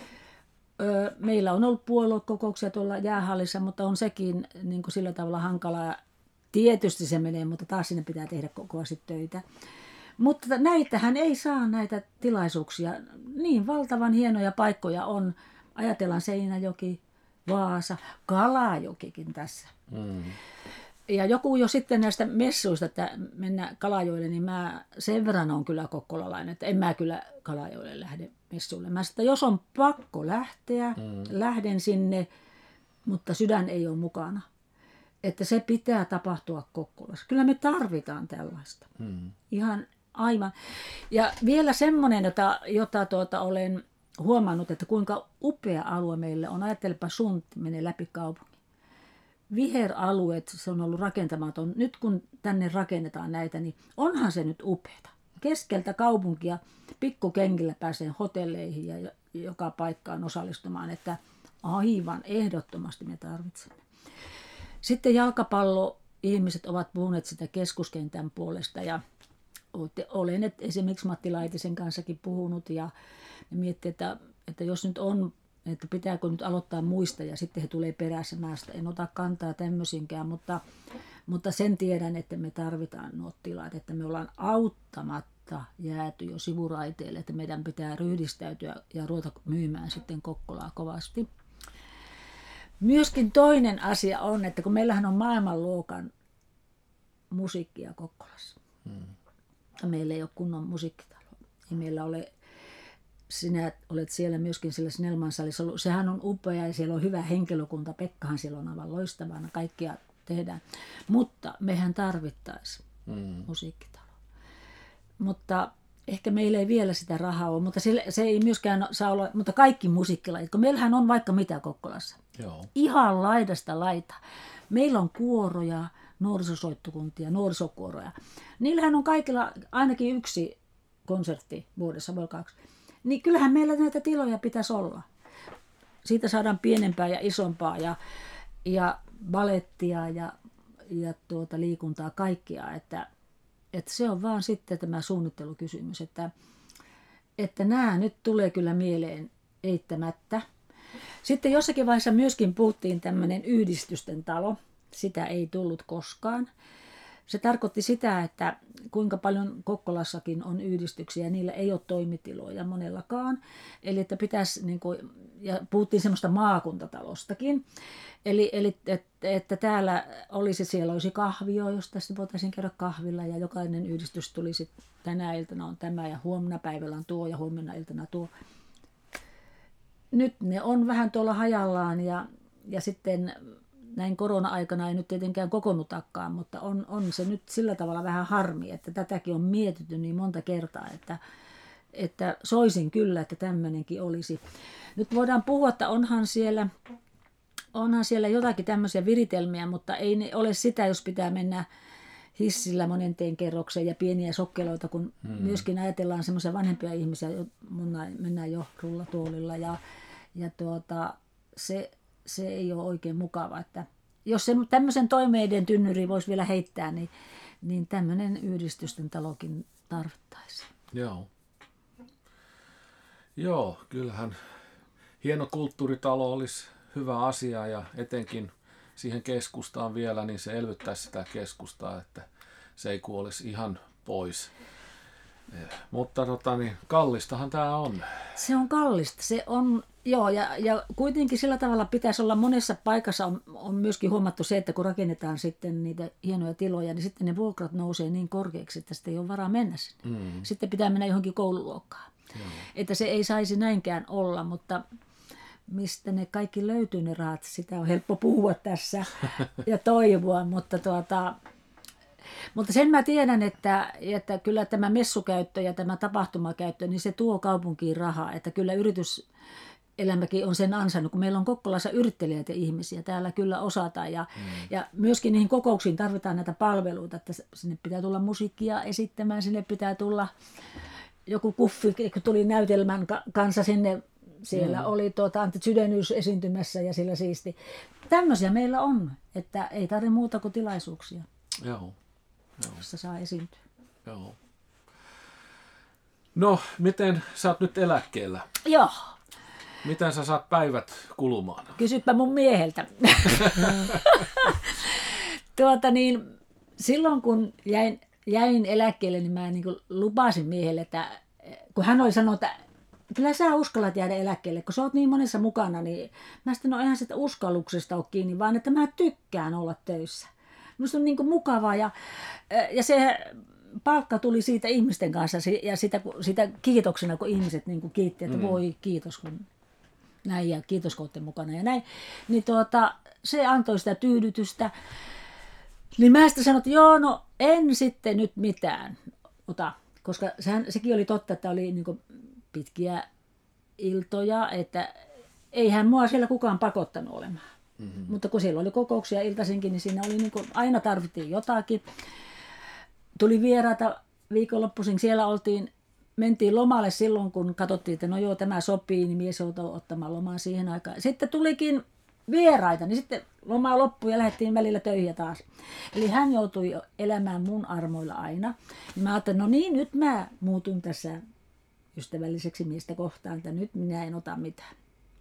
Meillä on ollut puoluekokouksia tuolla jäähallissa, mutta on sekin niin kuin sillä tavalla hankalaa. Tietysti se menee, mutta taas sinne pitää tehdä kovasti töitä. Mutta näitähän ei saa näitä tilaisuuksia. Niin valtavan hienoja paikkoja on. Ajatellaan Seinäjoki, Vaasa, Kalajokikin tässä. Mm. Ja joku jo sitten näistä messuista, että mennä Kalajoelle, niin mä sen verran on kyllä kokkolalainen, että en mä kyllä Kalajoelle lähde messuille. Mä sanoin, että jos on pakko lähteä, mm. lähden sinne, mutta sydän ei ole mukana. Että se pitää tapahtua Kokkolassa. Kyllä me tarvitaan tällaista. Mm. Ihan aivan. Ja vielä semmoinen, jota, jota tuota olen huomannut, että kuinka upea alue meille on. Ajattelepa, Sund menee läpi kaupungin. Viheralueet, se on ollut rakentamaton. Nyt kun tänne rakennetaan näitä, niin onhan se nyt upeata. Keskeltä kaupunkia pikkukengillä pääsee hotelleihin ja joka paikkaan osallistumaan, että aivan ehdottomasti me tarvitsemme. Sitten jalkapallo-ihmiset ovat puhuneet sitä keskuskentän puolesta ja olen esimerkiksi Matti Laitisen kanssakin puhunut ja miettii, että, että jos nyt on, että pitääkö nyt aloittaa muista ja sitten he tulee perässä. Mä en ota kantaa tämmöisinkään, mutta, mutta sen tiedän, että me tarvitaan nuo tilat, että me ollaan auttamatta jääty jo sivuraiteille, että meidän pitää ryhdistäytyä ja ruveta myymään sitten Kokkolaa kovasti. Myöskin toinen asia on, että kun meillähän on maailmanluokan musiikkia Kokkolassa. Hmm. Meillä ei ole kunnon musiikkitalo. Ei meillä ole, sinä olet siellä myöskin siellä Snellman salissa ollut. Sehän on upea ja siellä on hyvä henkilökunta. Pekkahan siellä on aivan loistavana. Kaikkia tehdään. Mutta mehän tarvittaisiin hmm. musiikkitalo. Mutta ehkä meillä ei vielä sitä rahaa ole, mutta se, se ei myöskään saa olla, mutta kaikki musiikkilajit, kun meillähän on vaikka mitä Kokkolassa. Joo. Ihan laidasta laita. Meillä on kuoroja, nuorisosoittokuntia, nuorisokuoroja. Niillähän on kaikilla ainakin yksi konsertti vuodessa, voi kaksi. Niin kyllähän meillä näitä tiloja pitäisi olla. Siitä saadaan pienempää ja isompaa ja, ja balettia ja, ja tuota liikuntaa kaikkia, että Että se on vaan sitten tämä suunnittelukysymys, että, että nämä nyt tulee kyllä mieleen eittämättä. Sitten jossakin vaiheessa myöskin puhuttiin tämmöinen yhdistysten talo. Sitä ei tullut koskaan. Se tarkoitti sitä, että kuinka paljon Kokkolassakin on yhdistyksiä, niillä ei ole toimitiloja monellakaan. Eli että pitäisi, niin kuin, ja puhuttiin semmoista maakuntatalostakin. Eli, eli että, että täällä olisi, siellä olisi kahvio, josta sitten voitaisiin käydä kahvilla ja jokainen yhdistys tulisi, tänä iltana on tämä ja huomenna päivällä on tuo ja huomenna iltana tuo. Nyt ne on vähän tuolla hajallaan ja, ja sitten näin korona-aikana ei nyt tietenkään kokoonnutakaan, mutta on, on se nyt sillä tavalla vähän harmi, että tätäkin on mietitty niin monta kertaa, että, että soisin kyllä, että tämmöinenkin olisi. Nyt voidaan puhua, että onhan siellä, onhan siellä jotakin tämmöisiä viritelmiä, mutta ei ne ole sitä, jos pitää mennä hissillä monenteen kerrokseen ja pieniä sokkeloita, kun hmm. myöskin ajatellaan semmoisia vanhempia ihmisiä, mennään jo rullatuolilla ja, ja tuota, se, se ei ole oikein mukava. Että jos se tämmöisen toimeiden tynnyri voisi vielä heittää, niin, niin tämmöinen yhdistysten talokin tarvittaisiin. Joo. Joo, kyllähän hieno kulttuuritalo olisi hyvä asia ja etenkin siihen keskustaan vielä, niin se elvyttäisi sitä keskustaa, että se ei kuolisi ihan pois. Mutta tota, niin, kallistahan tämä on. Se on kallista. Se on, joo, ja, ja kuitenkin sillä tavalla pitäisi olla monessa paikassa on, on myöskin huomattu se, että kun rakennetaan sitten niitä hienoja tiloja, niin sitten ne vuokrat nousee niin korkeaksi, että sitten ei ole varaa mennä sinne. Mm. Sitten pitää mennä johonkin koululuokkaan. Joo. Että se ei saisi näinkään olla, mutta mistä ne kaikki löytyy ne rahat, sitä on helppo puhua tässä ja toivoa, mutta, tuota, mutta sen mä tiedän, että, että kyllä tämä messukäyttö ja tämä tapahtumakäyttö, niin se tuo kaupunkiin rahaa, että kyllä yrityselämäkin on sen ansainnut, kun meillä on Kokkolassa yrittelijöitä ihmisiä, täällä kyllä osataan ja, mm. ja myöskin niihin kokouksiin tarvitaan näitä palveluita, että sinne pitää tulla musiikkia esittämään, sinne pitää tulla joku kuffi, kun tuli näytelmän kanssa sinne. Siellä mm. oli tuota, Antti Sydenius esiintymässä ja sillä siisti. Tämmöisiä meillä on, että ei tarvitse muuta kuin tilaisuuksia, Joo. Joo. jossa saa esiintyä. Joo. No, miten sä oot nyt eläkkeellä? Joo. Miten sä saat päivät kulumaan? Kysypä mun mieheltä. tuota niin, silloin kun jäin, jäin eläkkeelle, niin mä niin kuin lupasin miehelle, että kun hän oli sanonut, että kyllä sä uskallat jäädä eläkkeelle, kun sä oot niin monessa mukana, niin mä sitten no eihän sitä uskalluksesta ole kiinni, vaan että mä tykkään olla töissä. Minusta on niin kuin mukavaa ja, ja se palkka tuli siitä ihmisten kanssa ja sitä, sitä kiitoksena, kun ihmiset niin kuin kiitti, että mm. voi kiitos kun näin ja kiitos kun olette mukana ja näin. Niin tuota, se antoi sitä tyydytystä. Niin mä sitten sanoin, että joo, no en sitten nyt mitään ota, koska sehän, sekin oli totta, että oli niin kuin pitkiä iltoja, että eihän mua siellä kukaan pakottanut olemaan. Mm-hmm. Mutta kun siellä oli kokouksia iltaisinkin, niin siinä oli niin kuin, aina tarvittiin jotakin. Tuli vieraita viikonloppuisin, siellä oltiin, mentiin lomalle silloin, kun katsottiin, että no joo, tämä sopii, niin mies joutui ottamaan lomaa siihen aikaan. Sitten tulikin vieraita, niin sitten loma loppui ja lähdettiin välillä töihin taas. Eli hän joutui elämään mun armoilla aina. Niin mä ajattelin, no niin, nyt mä muutun tässä ystävälliseksi miestä kohtaan, että nyt minä en ota mitään.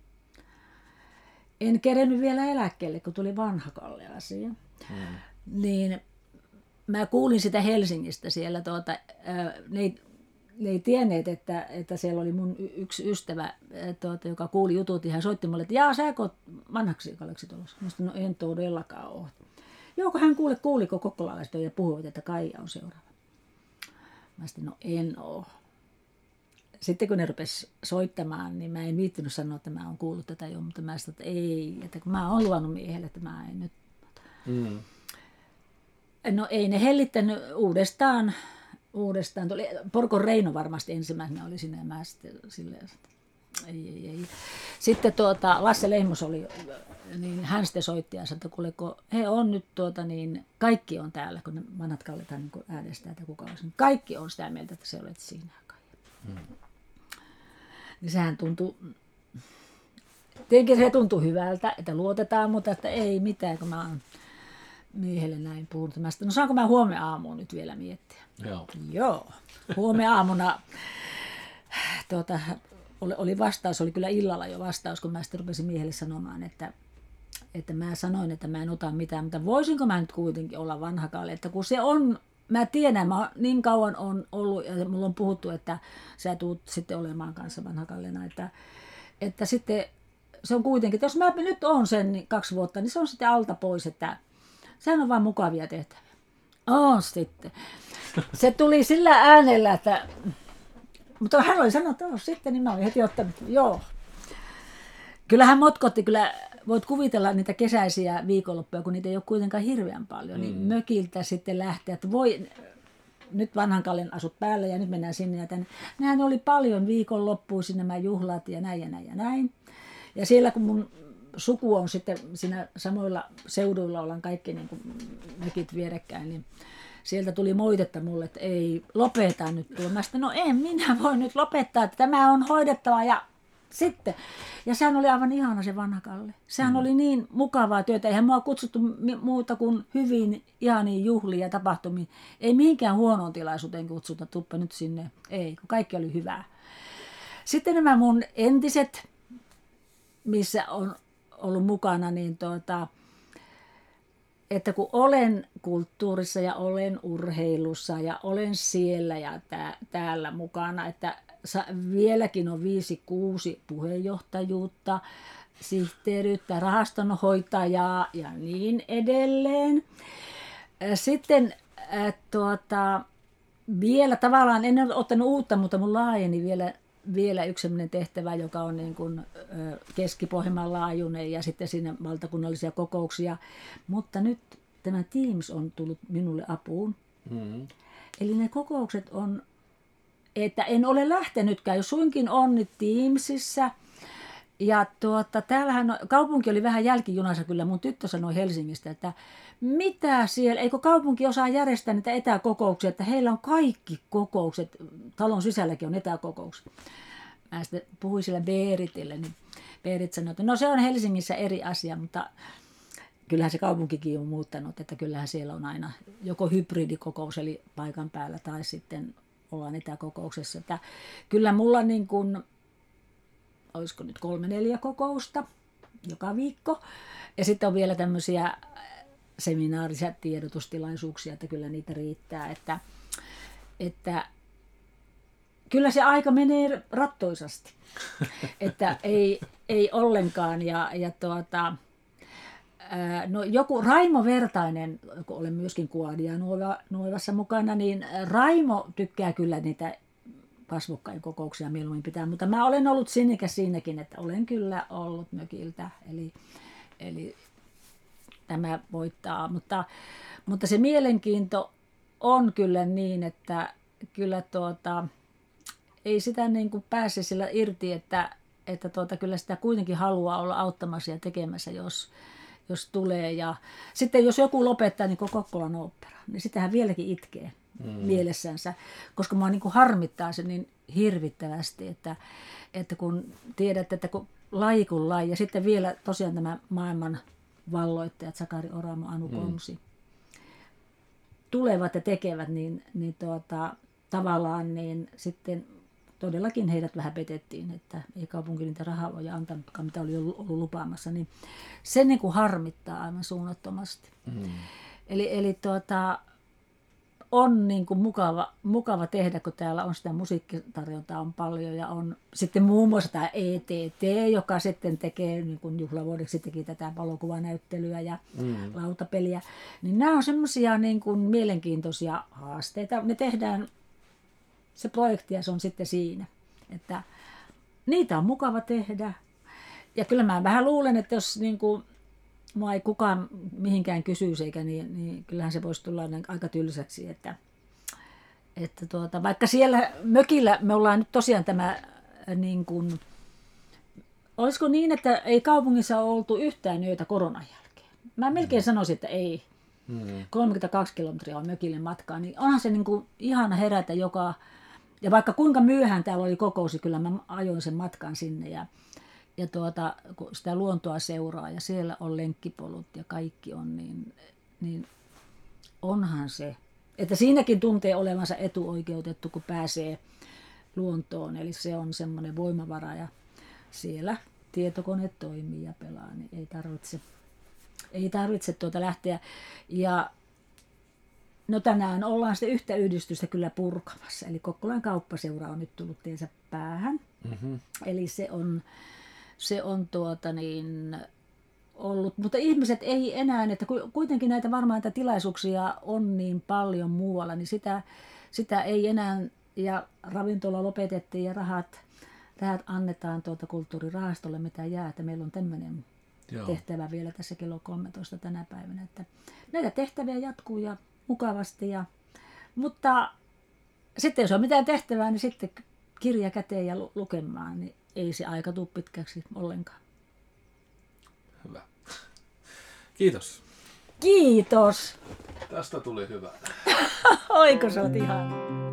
En kerennyt vielä eläkkeelle, kun tuli Vanhakalle asia. Hmm. Niin mä kuulin sitä Helsingistä siellä, tuota, ne, ei, ne ei tienneet, että, että siellä oli mun yksi ystävä, tuota, joka kuuli jutut, ja hän soitti mulle, että jaa, sä oot Vanhaksi Kalleksi tulossa. Mä sanoin, no en todellakaan ole. Joo, kun hän kuuli, kuuliko kokkolalaista ja puhuivat, että Kaija on seuraava. Mä sanoin, no en ole. Sitten kun ne rupesi soittamaan, niin mä en viittinyt sanoa, että mä oon kuullut tätä jo, mutta mä sanoin, että ei, että kun mä oon luvannut miehelle, että mä en nyt. Mm. No ei ne hellittänyt uudestaan, uudestaan. Tuli, Porkon Reino varmasti ensimmäisenä oli sinne ja mä sitten silleen, että ei, ei, ei. Sitten tuota, Lasse Lehmus oli, niin hän sitten soitti ja sanoi, että kuule, kun he on nyt tuota, niin kaikki on täällä, kun ne vanhat kalletaan niin äänestää, että kuka olisi. Kaikki on sitä mieltä, että se olet siinä. Mm. Niin sehän tuntuu, tietenkin se tuntuu hyvältä, että luotetaan, mutta että ei mitään, kun mä oon miehelle näin puhunut. Mä sitten, no saanko mä huomenna aamuun nyt vielä miettiä? Joo. Joo. Huomenna aamuna tuota, oli, oli vastaus, oli kyllä illalla jo vastaus, kun mä sitten rupesin miehelle sanomaan, että, että mä sanoin, että mä en ota mitään, mutta voisinko mä nyt kuitenkin olla Vanhakalle, että kun se on, mä tiedän, mä niin kauan on ollut, ja mulla on puhuttu, että sä tuut sitten olemaan kanssa Vanhakallena, että, että sitten se on kuitenkin, että jos mä nyt oon sen niin kaksi vuotta, niin se on sitten alta pois, että sehän on vaan mukavia tehtäviä. On sitten. Se tuli sillä äänellä, että, mutta hän oli sanonut, että sitten, niin mä olin heti ottanut, joo. Kyllähän motkotti, kyllä voit kuvitella niitä kesäisiä viikonloppuja, kun niitä ei ole kuitenkaan hirveän paljon, mm. niin mökiltä sitten lähteä, että voi, nyt vanhan Kallen asut päällä ja nyt mennään sinne ja tänne. Nehän oli paljon viikonloppuisin nämä juhlat ja näin ja näin ja näin. Ja siellä kun mun suku on sitten siinä samoilla seuduilla, ollaan kaikki niin kuin mökit vierekkäin, niin sieltä tuli moitetta mulle, että ei lopeta nyt tulla. Mä sanoin, no en minä voi nyt lopettaa, että tämä on hoidettava ja sitten. Ja sehän oli aivan ihana se vanha Kalle. Sehän mm. oli niin mukavaa työtä. Eihän mua kutsuttu muuta kuin hyvin ihaniin juhliin ja tapahtumiin. Ei mihinkään huonoon tilaisuuteen kutsuta, tuppa nyt sinne. Ei, kun kaikki oli hyvää. Sitten nämä mun entiset, missä on ollut mukana, niin tuota, että kun olen kulttuurissa ja olen urheilussa ja olen siellä ja tää, täällä mukana, että vieläkin on viisi, kuusi puheenjohtajuutta, sihteeriyttä, rahastonhoitajaa ja niin edelleen. Sitten äh, tuota, vielä tavallaan, en ole ottanut uutta, mutta mun laajeni vielä, vielä yksi sellainen tehtävä, joka on niin kuin, äh, Keski-Pohjanmaan laajuinen ja sitten siinä valtakunnallisia kokouksia. Mutta nyt tämä Teams on tullut minulle apuun. Mm-hmm. Eli ne kokoukset on, että en ole lähtenytkään, jos suinkin on nyt Teamsissa. Ja tuota, täällähän kaupunki oli vähän jälkijunassa kyllä, mun tyttö sanoi Helsingistä, että mitä siellä, eikö kaupunki osaa järjestää niitä etäkokouksia, että heillä on kaikki kokoukset, talon sisälläkin on etäkokoukset. Mä sitten puhuin sillä Beeritille, niin Beerit sanoi, että no se on Helsingissä eri asia, mutta kyllähän se kaupunkikin on muuttanut, että kyllähän siellä on aina joko hybridikokous eli paikan päällä tai sitten ollaan etäkokouksessa. Että kyllä mulla niin kuin, olisiko nyt kolme neljä kokousta joka viikko. Ja sitten on vielä tämmöisiä seminaarisia tiedotustilaisuuksia, että kyllä niitä riittää. Että, että kyllä se aika menee rattoisasti. Että ei, ei ollenkaan. Ja, ja tuota, no joku Raimo Vertainen, kun olen myöskin Kuodia Nuovassa mukana, niin Raimo tykkää kyllä niitä kasvokkain kokouksia mieluummin pitää, mutta mä olen ollut sinnikäs siinäkin, että olen kyllä ollut mökiltä, eli, eli tämä voittaa, mutta, mutta se mielenkiinto on kyllä niin, että kyllä tuota, ei sitä niin kuin pääse sillä irti, että, että tuota, kyllä sitä kuitenkin haluaa olla auttamassa ja tekemässä, jos, jos tulee. Ja sitten jos joku lopettaa, niin kuin Kokkolan ooppera, niin sitähän vieläkin itkee mm. mielessänsä, koska mua niin kuin harmittaa se niin hirvittävästi, että, että kun tiedät, että kun laji kun laji, ja sitten vielä tosiaan tämä maailman valloittajat, Sakari Oramo, Anu Konsi, mm. tulevat ja tekevät, niin, niin tuota, tavallaan niin sitten todellakin heidät vähän petettiin, että ei kaupunki niitä rahavoja antanutkaan, mitä oli ollut lupaamassa, niin se niin kuin harmittaa aivan suunnattomasti. Mm. Eli, eli tuota, on niin kuin mukava, mukava tehdä, kun täällä on sitä musiikkitarjontaa on paljon ja on sitten muun muassa tämä E T T, joka sitten tekee niin kuin juhlavuodeksi teki tätä valokuvanäyttelyä ja mm. lautapeliä. Niin nämä on semmoisia niin kuin mielenkiintoisia haasteita. Ne tehdään, se projekti ja se on sitten siinä, että niitä on mukava tehdä. Ja kyllä mä vähän luulen, että jos niin kuin mua ei kukaan mihinkään kysyisi, eikä niin, niin kyllähän se voisi tulla aika tylsäksi, että, että tuota, vaikka siellä mökillä me ollaan nyt tosiaan tämä, niin kuin, olisiko niin, että ei kaupungissa ole oltu yhtään yötä koronan jälkeen. Mä melkein sanoisin, että ei. Mm. kolmekymmentäkaksi kilometriä on mökille matkaa, niin onhan se niin kuin ihana herätä joka, ja vaikka kuinka myöhään täällä oli kokous, kyllä mä ajoin sen matkan sinne ja Ja tuota, kun sitä luontoa seuraa ja siellä on lenkkipolut ja kaikki on, niin, niin onhan se. Että siinäkin tuntee olevansa etuoikeutettu, kun pääsee luontoon. Eli se on semmoinen voimavara ja siellä tietokone toimii ja pelaa, niin ei tarvitse, ei tarvitse tuota lähteä. Ja no tänään ollaan sitten yhtä yhdistystä kyllä purkamassa. Eli Kokkolan kauppaseura on nyt tullut tiensä päähän. Mm-hmm. Eli se on... Se on tuota niin ollut, mutta ihmiset ei enää, että kuitenkin näitä varmaan näitä tilaisuuksia on niin paljon muualla, niin sitä, sitä ei enää, ja ravintola lopetettiin ja rahat, rahat annetaan tuota kulttuurirahastolle, mitä jää, että meillä on tämmöinen Joo. tehtävä vielä tässä kello kolmetoista tänä päivänä, että näitä tehtäviä jatkuu ja mukavasti, ja, mutta sitten jos on mitään tehtävää, niin sitten kirja käteen ja lukemaan, niin ei se aika tule pitkäksi ollenkaan. Hyvä. Kiitos. Kiitos. Tästä tuli hyvä. Oiko sä oot ihana?